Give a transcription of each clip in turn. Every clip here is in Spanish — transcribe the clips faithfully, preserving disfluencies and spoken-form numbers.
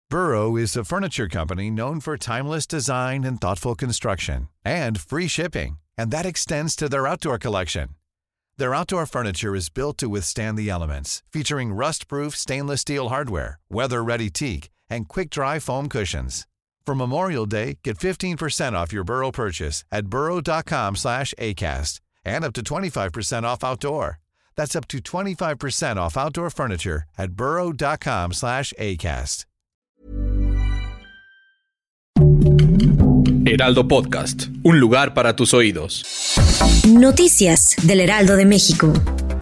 Burrow is a furniture company known for timeless design and thoughtful construction, and free shipping, and that extends to their outdoor collection. Their outdoor furniture is built to withstand the elements, featuring rust-proof stainless steel hardware, weather-ready teak, and quick-dry foam cushions. For Memorial Day, get fifteen percent off your Burrow purchase at burrow.com slash ACAST and up to twenty-five percent off outdoor. That's up to twenty-five percent off outdoor furniture at burrow.com slash ACAST. Heraldo Podcast, un lugar para tus oídos. Noticias del Heraldo de México.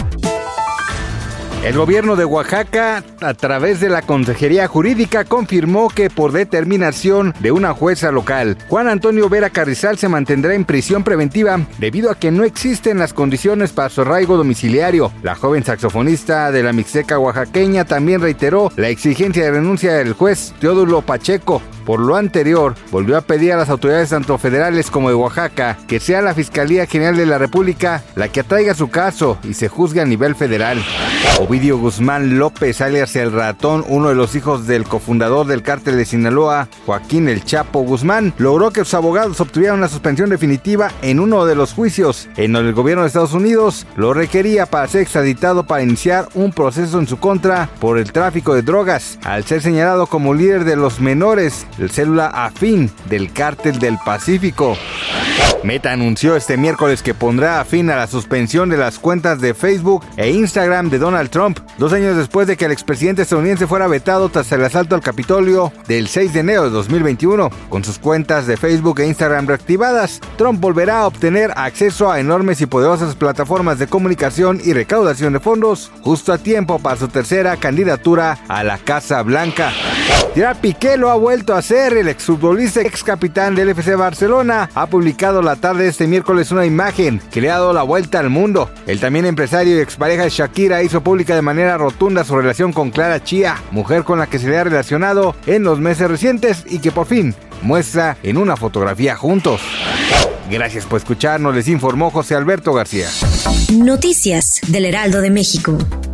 El gobierno de Oaxaca, a través de la Consejería Jurídica, confirmó que por determinación de una jueza local, Juan Antonio Vera Carrizal se mantendrá en prisión preventiva debido a que no existen las condiciones para su arraigo domiciliario. La joven saxofonista de la Mixteca oaxaqueña también reiteró la exigencia de renuncia del juez Teodulo Pacheco. Por lo anterior, volvió a pedir a las autoridades tanto federales como de Oaxaca que sea la Fiscalía General de la República la que atraiga su caso y se juzgue a nivel federal. Ovidio Guzmán López, alias El Ratón, uno de los hijos del cofundador del cártel de Sinaloa, Joaquín El Chapo Guzmán, logró que sus abogados obtuvieran una suspensión definitiva en uno de los juicios, en donde el gobierno de Estados Unidos lo requería para ser extraditado para iniciar un proceso en su contra por el tráfico de drogas, al ser señalado como líder de los menores, el célula afín del Cártel del Pacífico. Meta anunció este miércoles que pondrá fin a la suspensión de las cuentas de Facebook e Instagram de Donald Trump, dos años después de que el expresidente estadounidense fuera vetado tras el asalto al Capitolio del seis de enero de dos mil veintiuno. Con sus cuentas de Facebook e Instagram reactivadas, Trump volverá a obtener acceso a enormes y poderosas plataformas de comunicación y recaudación de fondos, justo a tiempo para su tercera candidatura a la Casa Blanca. Gerard Piqué lo ha vuelto a hacer. El exfutbolista ex capitán del F C Barcelona ha publicado la tarde de este miércoles una imagen que le ha dado la vuelta al mundo. El también empresario y expareja de Shakira hizo pública de manera rotunda su relación con Clara Chía, mujer con la que se le ha relacionado en los meses recientes y que por fin muestra en una fotografía juntos. Gracias por escucharnos, les informó José Alberto García. Noticias del Heraldo de México.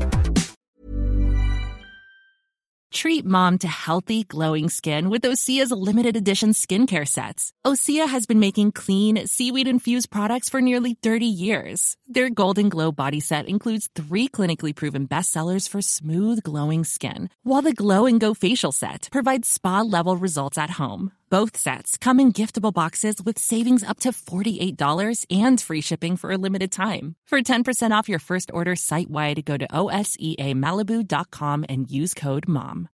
Treat mom to healthy, glowing skin with Osea's limited edition skincare sets. Osea has been making clean, seaweed-infused products for nearly thirty years. Their Golden Glow body set includes three clinically proven bestsellers for smooth, glowing skin, while the Glow and Go facial set provides spa-level results at home. Both sets come in giftable boxes with savings up to forty-eight dollars and free shipping for a limited time. For ten percent off your first order site-wide, go to O S E A Malibu dot com and use code MOM.